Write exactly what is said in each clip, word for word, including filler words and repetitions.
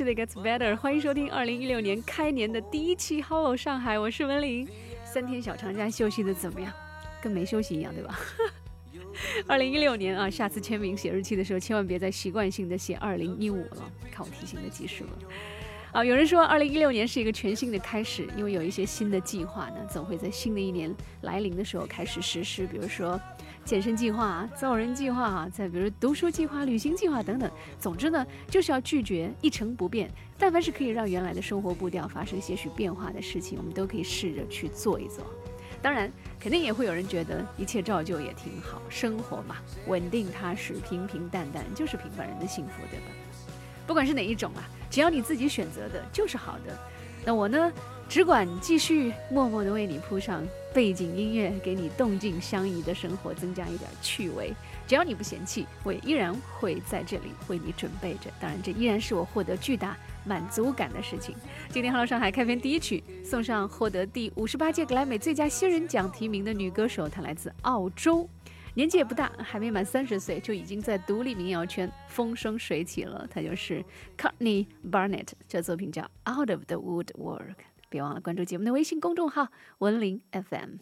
Actually Gets Better， 欢迎收听二零一六年开年的第一期 Hello 上海，我是文玲。三天小长假休息的怎么样？跟没休息一样，对吧？二零一六年啊，下次签名写日期的时候，千万别再习惯性的写二零一五了，看我提醒的及时了。啊，有人说二零一六年是一个全新的开始，因为有一些新的计划呢，总会在新的一年来临的时候开始实施，比如说健身计划、造人计划，再比如读书计划、旅行计划等等。总之呢，就是要拒绝一成不变。但凡是可以让原来的生活步调发生些许变化的事情，我们都可以试着去做一做。当然，肯定也会有人觉得一切照旧也挺好，生活嘛，稳定踏实、平平淡淡，就是平凡人的幸福，对吧？不管是哪一种啊，只要你自己选择的就是好的。那我呢，只管继续默默地为你铺上背景音乐，给你动静相宜的生活增加一点趣味。只要你不嫌弃，我也依然会在这里为你准备着。当然，这依然是我获得巨大满足感的事情。今天 Hello 上海开篇第一曲，送上获得第五十八届格莱美最佳新人奖提名的女歌手，她来自澳洲。年纪也不大，还没满三十岁，就已经在独立民谣圈风生水起了。她就是 Courtney Barnett， 这作品叫 Out of the Woodwork。别忘了关注节目的微信公众号文林 F M。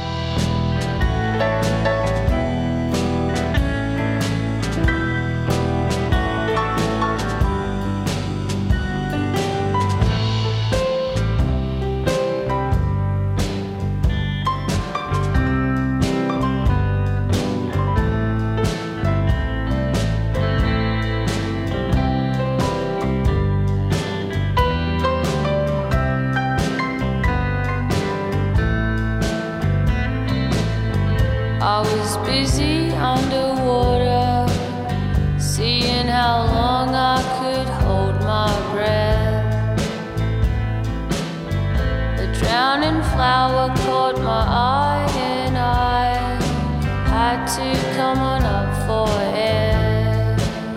I was busy underwater, seeing how long I could hold my breath. The drowning flower caught my eye and I had to come on up for air.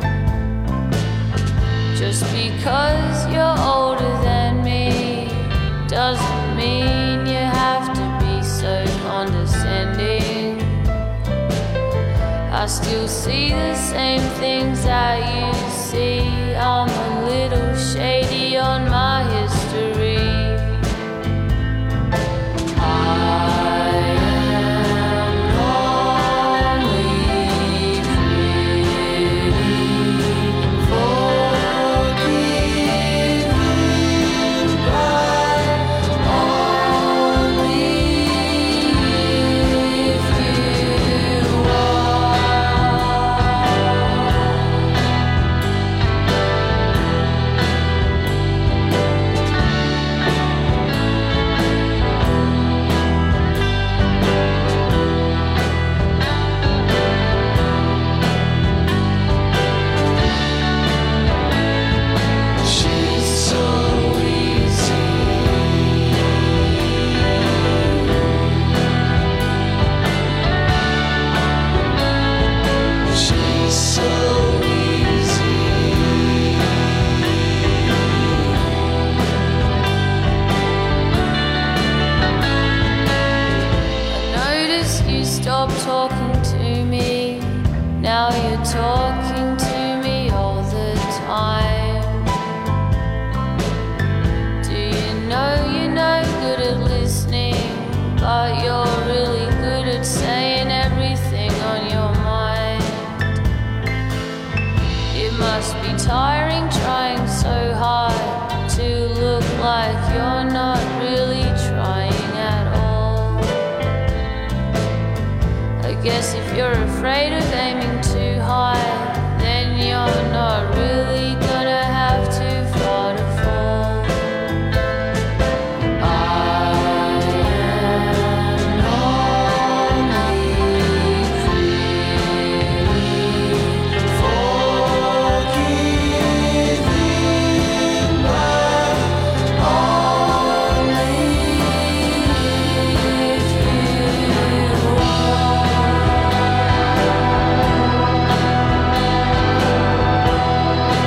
Just because you're older than me doesn't mean you have to be so condescending. I still see the same things that you see. I'm a little shady on my history. I am only pretty, forgiving, but only if you talking to me, now you're talking to me all the time. Do you know you're no good at listening, but you're really good at saying everything on your mind? It must be tiring trying so hard to look like you're not really trying at all. I guess if you're afraid of aiming too high, then you're not really gonna have too far to fall. I am only pretty, forgiving, but only if you are.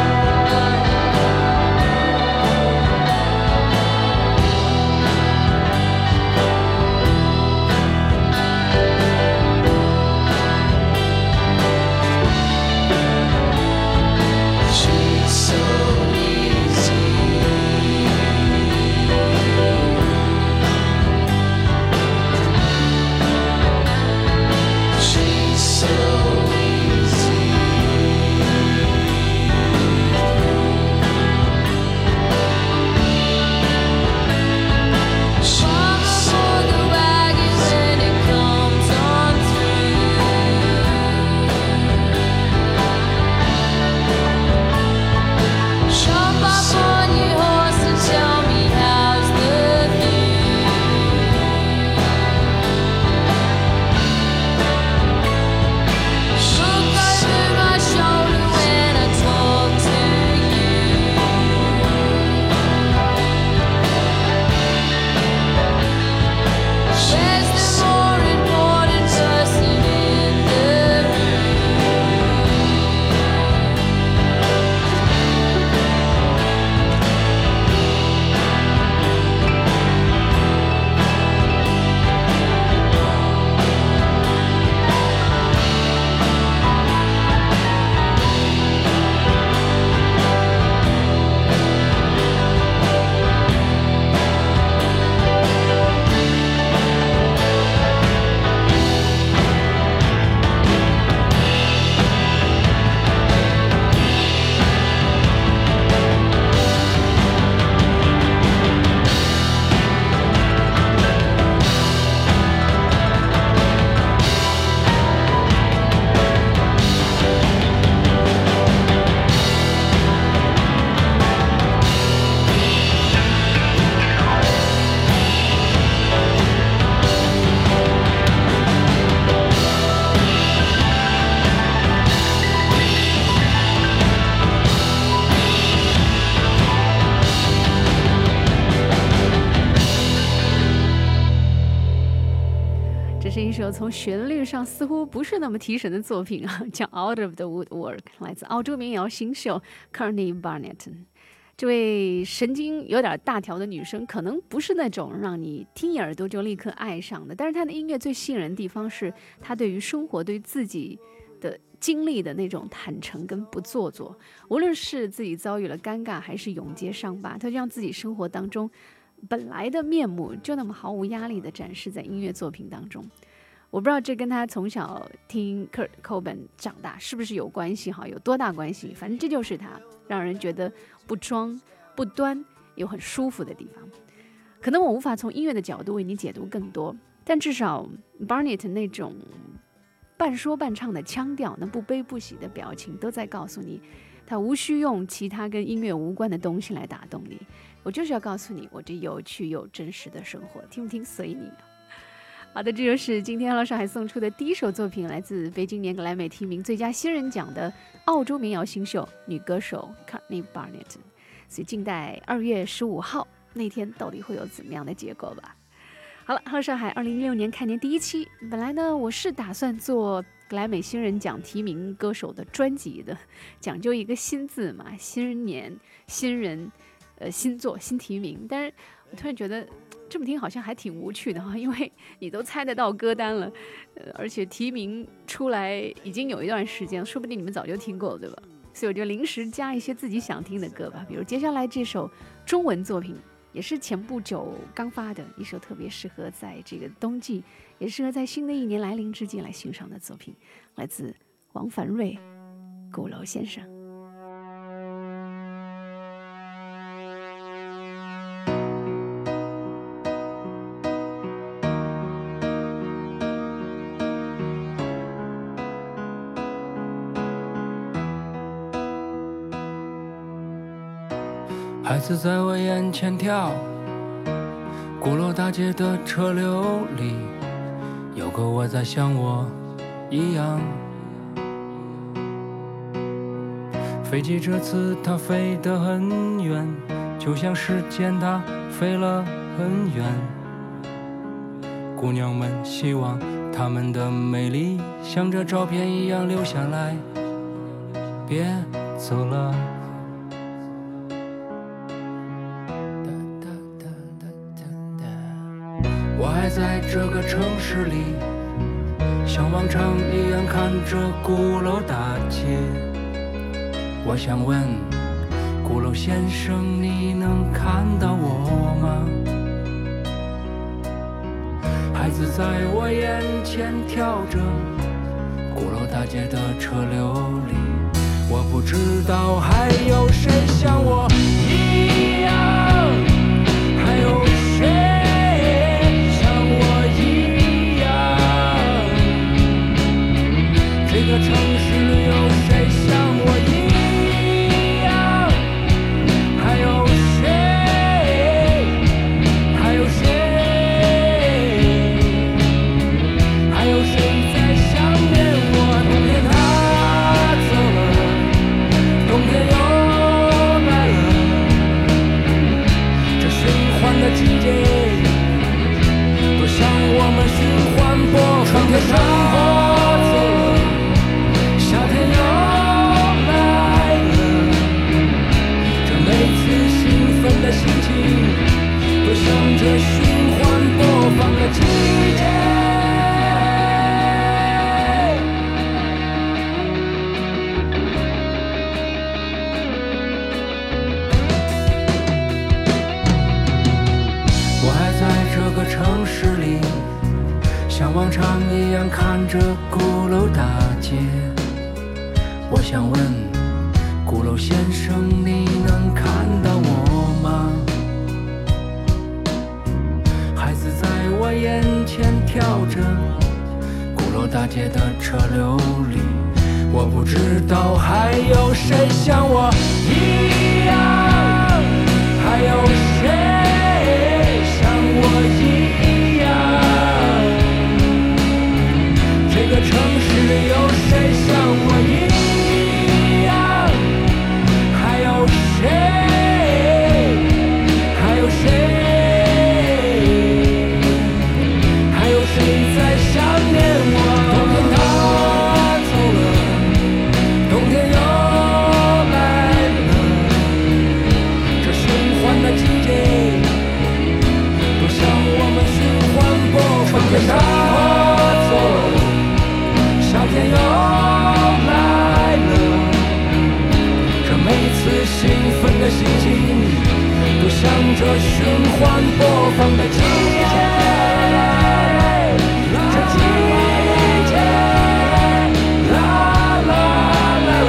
首从旋律上似乎不是那么提神的作品啊，叫 Out of the Woodwork， 来自澳洲民谣新秀 Courtney Barnett。 这位神经有点大条的女生可能不是那种让你听一耳朵就立刻爱上的，但是她的音乐最吸引人的地方是她对于生活对自己的经历的那种坦诚跟不做作，无论是自己遭遇了尴尬还是永结伤疤，她就让自己生活当中本来的面目就那么毫无压力的展示在音乐作品当中。我不知道这跟他从小听 Kurt Cobain 长大是不是有关系哈，有多大关系，反正这就是他让人觉得不装不端又很舒服的地方。可能我无法从音乐的角度为你解读更多，但至少 Barnett 那种半说半唱的腔调，那不悲不喜的表情都在告诉你他无需用其他跟音乐无关的东西来打动你，我就是要告诉你我这有趣又真实的生活，听不听随你。好的，这就是今天Hello上海送出的第一首作品，来自北京年格莱美提名最佳新人奖的澳洲民谣新秀女歌手 Courtney Barnett。 所以静待二月十五号那天到底会有怎么样的结果吧。好了，Hello上海二零一六年开年第一期，本来呢我是打算做格莱美新人奖提名歌手的专辑的，讲究一个新字嘛，新年新人呃新作新提名，但是我突然觉得这么听好像还挺无趣的哈，因为你都猜得到歌单了，呃，而且提名出来已经有一段时间，说不定你们早就听过了，对吧？所以我就临时加一些自己想听的歌吧，比如接下来这首中文作品，也是前不久刚发的一首特别适合在这个冬季，也适合在新的一年来临之际来欣赏的作品，来自王凡瑞《鼓楼先生》。 孩子在我眼前跳，鼓楼大街的车流里，有个我在像我一样。飞机这次它飞得很远，就像时间它飞了很远。姑娘们希望她们的美丽像这照片一样留下来，别走了。我还在这个城市里，像往常一样看着鼓楼大街。我想问鼓楼先生，你能看到我吗？孩子在我眼前跳着，鼓楼大街的车流里，我不知道还有谁像我一样，还有谁这个城市里有谁像我一样？还有谁？还有谁？还有谁在想念我？冬天他走了，冬天又来了，这循环的季节，多像我们循环播放的生活。的心情多像这循环播放的季节。我还在这个城市里，像往常一样看着鼓楼大街。我想问鼓楼先生，你能看到我吗？孩子在我眼前跳着，鼓楼大街的车流里，我不知道还有谁像我一样，还有谁像我一样？这个城市里有谁像我一样？谁？还有谁？还有谁在想念着循环播放的季节，这季节，啦啦啦啦，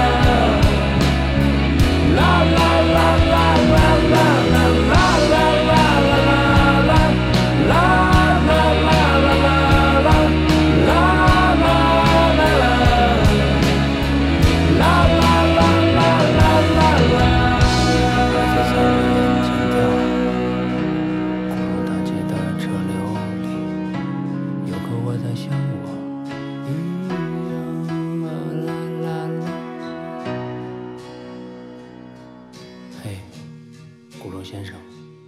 啦啦啦啦啦啦啦啦啦啦啦啦，啦啦啦啦啦，啦啦啦啦，啦啦啦啦啦啦啦。在三年前跳，鼓楼大街的车流里，有个我在想我一样，啦啦啦啦。嘿，鼓楼先生。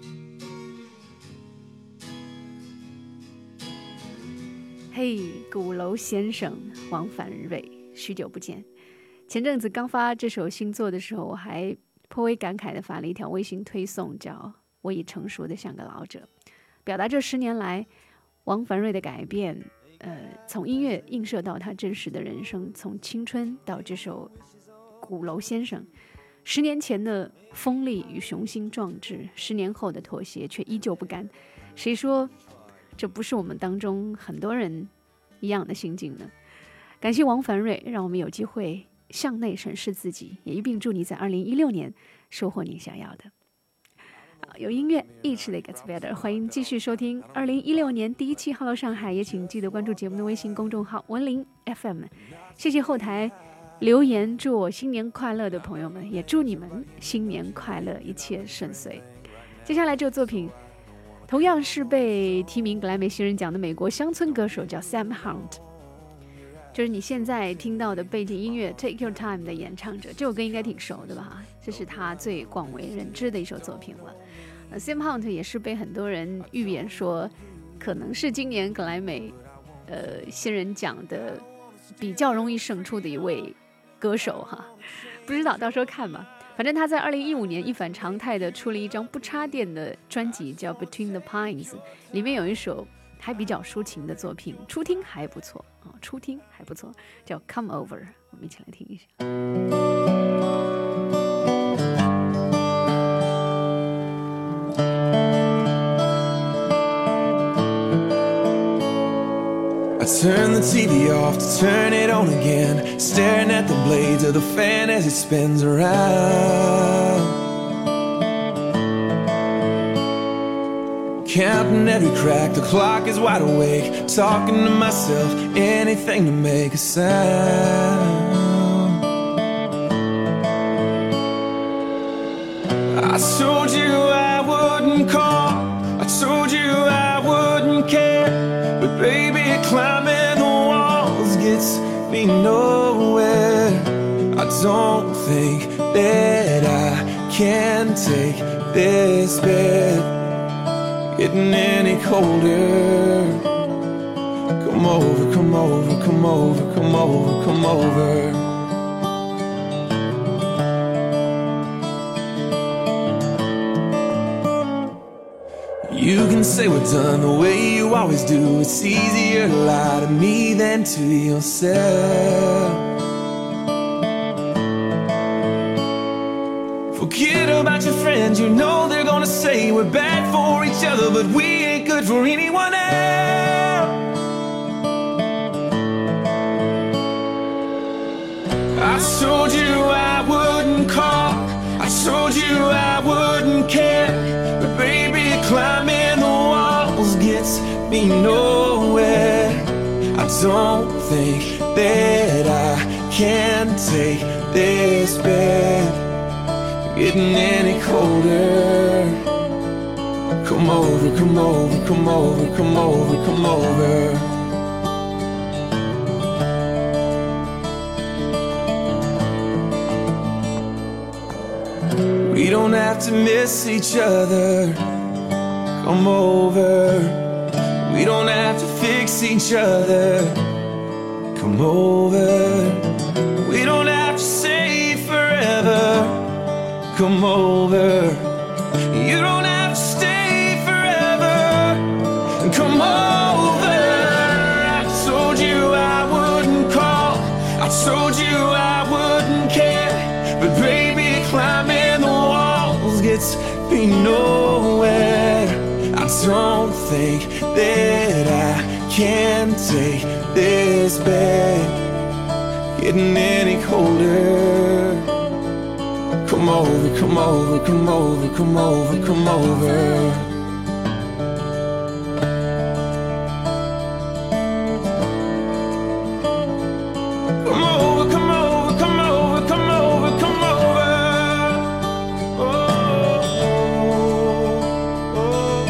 嘿，鼓楼先生，王凡瑞，许久不见。前阵子刚发这首新作的时候，我还颇为感慨地发了一条微信推送，叫“我已成熟的像个老者”，表达这十年来王凡瑞的改变。呃，从音乐映射到他真实的人生，从青春到这首《鼓楼先生》，十年前的锋利与雄心壮志，十年后的妥协却依旧不甘。谁说这不是我们当中很多人一样的心境呢？感谢王凡瑞，让我们有机会向内审视自己，也一并祝你在二零一六年收获你想要的。有音乐，Each Day Gets Better， 欢迎继续收听二零一六年第一期 Hello 上海，也请记得关注节目的微信公众号文林 F M。谢谢后台留言祝我新年快乐的朋友们，也祝你们新年快乐，一切顺遂。接下来这个作品同样是被提名格莱美新人奖的美国乡村歌手，叫 Sam Hunt， 就是你现在听到的背景音乐 Take Your Time 的演唱者。这首歌应该挺熟的吧？这是他最广为人知的一首作品了。呃、Sam Hunt 也是被很多人预言说可能是今年格莱美呃新人奖的比较容易胜出的一位歌手哈，不知道到时候看吧。反正他在二零一五年一反常态的出了一张不插电的专辑，叫 Between the Pines， 里面有一首还比较抒情的作品，初听还不错、哦、初听还不错，叫 Come Over， 我们一起来听一下。 Turn the T V off to turn it on again, staring at the blades of the fan as it spins around, counting every crack, the clock is wide awake, talking to myself, anything to make a sound. I told you I wouldn't call, I told you I wouldn't care, but baby, climbing the walls gets me nowhere. I don't think that I can take this bed getting any colder. Come over, come over, come over, come over, come over. You can say we're done the way you always do. It's easier to lie to me than to yourself. Forget about your friends, you know they're gonna say we're bad for each other, but we ain't good for anyone else. I told you I wouldn't call, I told you I wouldn't care, but baby, climbing the walls gets me nowhere. I don't think that I can take this bed getting any colder. Come over, come over, come over, come over, come over. We don't have to miss each other. Come over. We don't have to fix each other. Come over. We don't have to say forever. Come over. You don't have to stay forever. Come over. I told you I wouldn't call, I told you I wouldn't care, but baby, climbing the walls gets be nowhere. I don't think that I can take this bed getting any colder. Come over, come over, come over, come over, come over. Come over, come over, come over, come over, come over. Oh, oh, oh.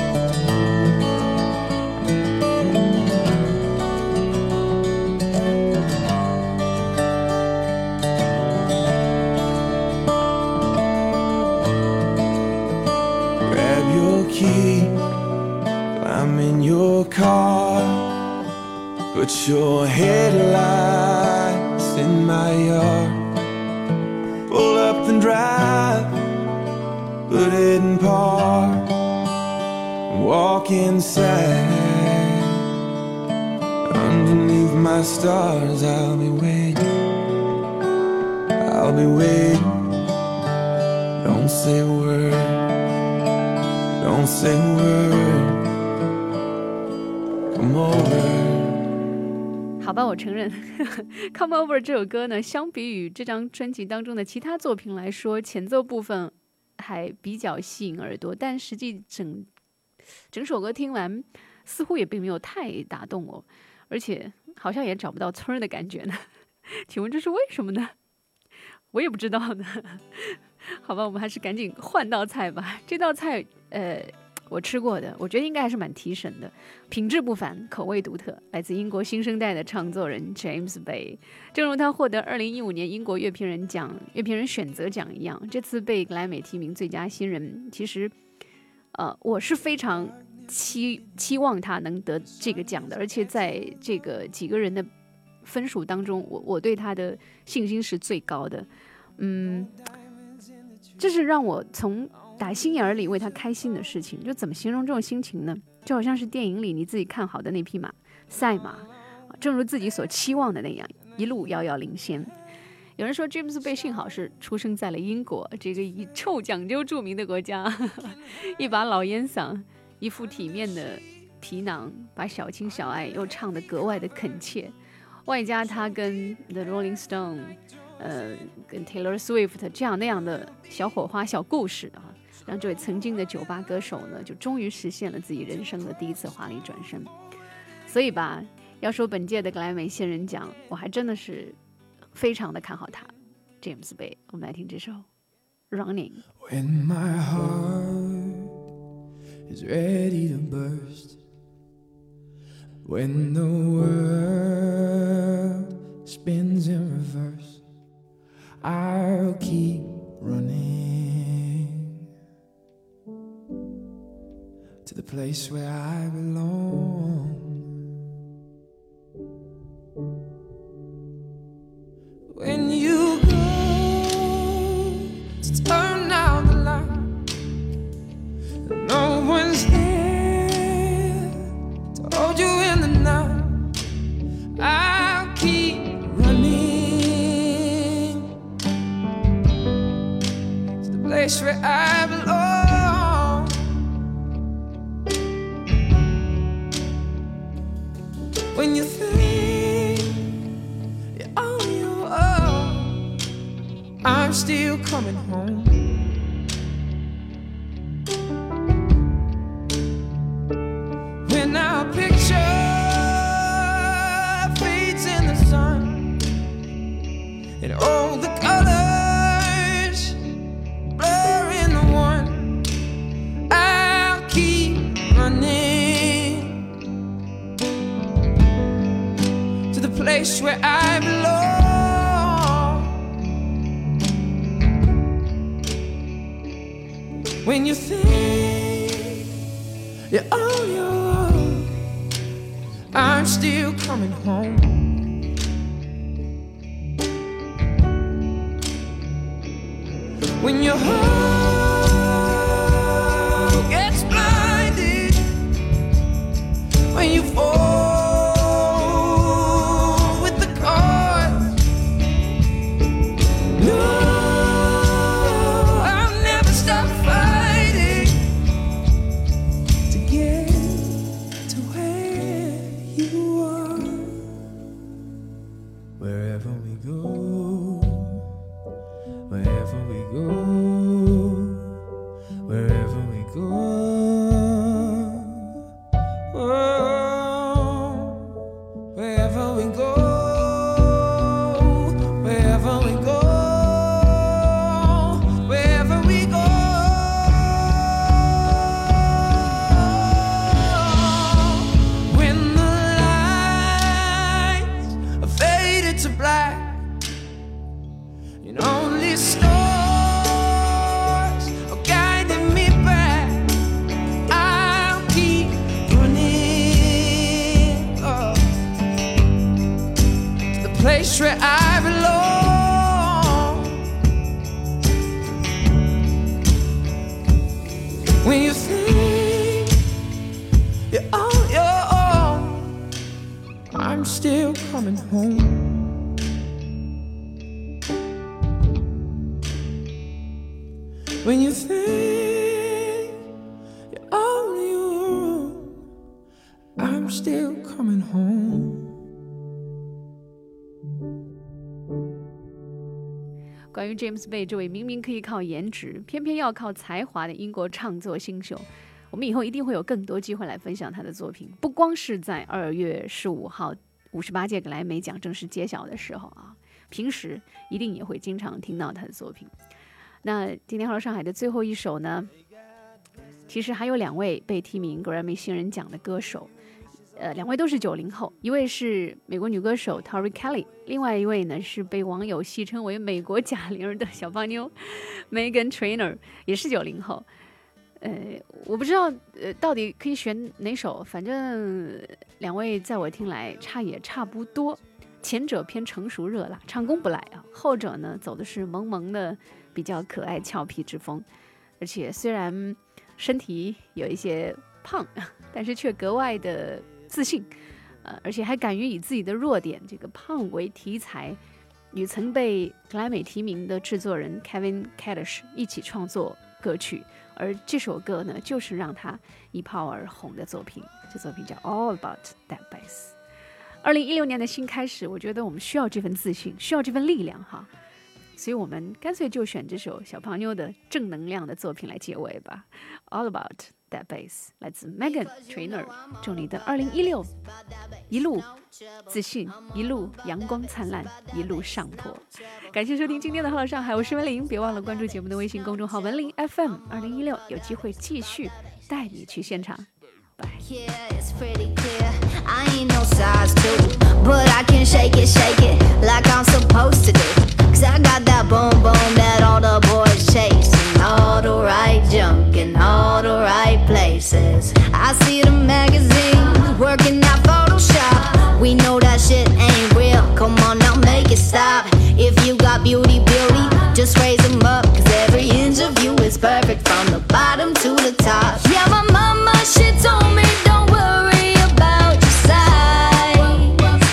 Grab your key, climb in your car, put your headlights in my yard. Pull up and drive, put it in park, walk inside. Underneath my stars I'll be waiting, I'll be waiting. Don't say a word, don't say a word. Come over。 好吧，我承认Come Over 这首歌呢，相比于这张专辑当中的其他作品来说，前奏部分还比较吸引耳朵，但实际整整首歌听完似乎也并没有太打动我，而且好像也找不到村儿的感觉呢。请问这是为什么呢？我也不知道呢。好吧，我们还是赶紧换道菜吧。这道菜呃我吃过的，我觉得应该还是蛮提神的，品质不凡，口味独特，来自英国新生代的唱作人 James Bay。 正如他获得二零一五年英国乐评人奖乐评人选择奖一样，这次被格莱美提名最佳新人，其实呃，我是非常期期望他能得这个奖的，而且在这个几个人的分数当中，我我对他的信心是最高的。嗯，这是让我从打心眼里为他开心的事情。就怎么形容这种心情呢？就好像是电影里你自己看好的那匹马，赛马，正如自己所期望的那样，一路遥遥领先。有人说 James Bay 幸好是出生在了英国，这个以臭讲究著名的国家，一把老烟嗓，一副体面的皮囊，把小情小爱又唱得格外的恳切，外加他跟 The Rolling Stone呃，跟 Taylor Swift 这样那样的小火花小故事啊，让这位曾经的酒吧歌手呢，就终于实现了自己人生的第一次华丽转身。所以吧，要说本届的格莱美新人奖，我还真的是非常的看好他 James Bay。 我们来听这首 Running。 When my heart is ready to burst, when the world spins in reverse, I'll keep running to the place where I belong. When you go to turn out the light, no one's there to hold you in the night, I'll keep running to the place where I belong. When you think you're on your own, I'm still coming home. When our picture fades in the sun and all the colors blur into one, I'll keep running to the place where I belong. When you think you're on your own, I'm still coming home. When your heart gets blinded, when you fall with the cards, no, I'll never stop fighting I'm still coming home. When you think you're on your own, I'm still coming home. 关于 James Bay 这位明明可以靠颜值，偏偏要靠才华的英国唱作新秀，我们以后一定会有更多机会来分享他的作品，不光是在二月十五号五十八届格莱美奖正式揭晓的时候啊，平时一定也会经常听到他的作品。那今天Hello上海的最后一首呢，其实还有两位被提名格莱美新人奖的歌手，呃，两位都是九零后，一位是美国女歌手 Tori Kelly， 另外一位呢是被网友戏称为美国贾玲的小胖妞 Megan Trainor， 也是九零后。呃，我不知道呃到底可以选哪首，反正两位在我听来差也差不多。前者偏成熟热辣，唱功不赖啊；后者呢走的是萌萌的比较可爱俏皮之风，而且虽然身体有一些胖，但是却格外的自信，呃，而且还敢于以自己的弱点这个胖为题材，与曾被格莱美提名的制作人 Kevin Kadish 一起创作歌曲，而这首歌呢就是让他一炮而红的作品，这作品叫 All About That Bass。二零一六年的新开始，我觉得我们需要这份自信，需要这份力量哈，所以我们干脆就选这首小胖妞的正能量的作品来结尾吧。All About That Bass 来自 Megan Trainor， 祝你的二零一六一路自信，一路阳光灿烂，一路上坡。感谢收听今天的Hello上海，我是文玲，别忘了关注节目的微信公众号文玲 F M。二零一六有机会继续带你去现场。 Yeah, it's pretty clear. I ain't no size two, but I can shake it, shake it like I'm supposed to do. Cause I got that boom boom that all the boys chase, and all the right junk in all the right places. I see the magazines working out Photoshop. We know that shit ain't real. Come on now, make it stop. If you got beauty, beauty, just raise them up. Cause every inch of you is perfect from the bottom to the top. Yeah, my mama, she told me don't worry about your size.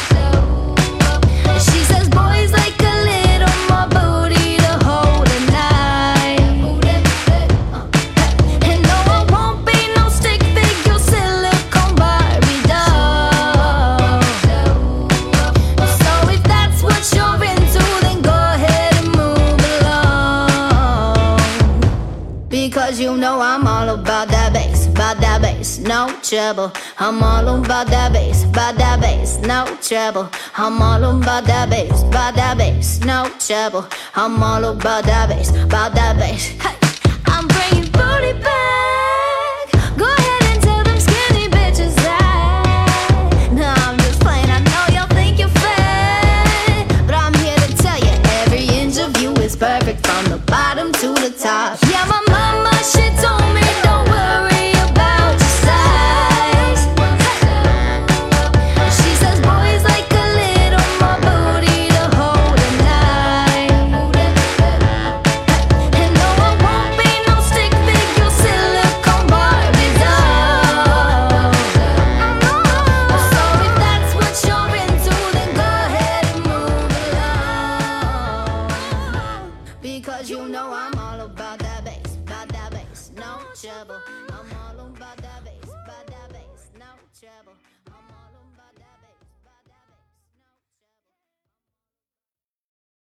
She says boys like a little more booty to hold at night. And no, I won't be no stick figure silicone Barbie doll. So if that's what you're into, then go ahead and move along. Because you know I'm all about that bass, about that bass, no trouble. I'm all about that bass, about that bass, no trouble. I'm all about that bass, about that bass, no trouble. I'm all about that bass, about that bass. Hey, I'm bringing booty back. Go ahead and tell them skinny bitches that. No, I'm just playing, I know y'all think you're fat, but I'm here to tell you every inch of you is perfect from the bottom to the top. Yeah, my mama, she told me don't worry about your size. She says boys like a little more booty to hold at night. And no, I won't be no stick figure silicone Barbie doll. So if that's what you're into, then go ahead and move along. Because you know I'm all about that bass, about that bass, no trouble. I'm all about that bass, about that bass, no trouble.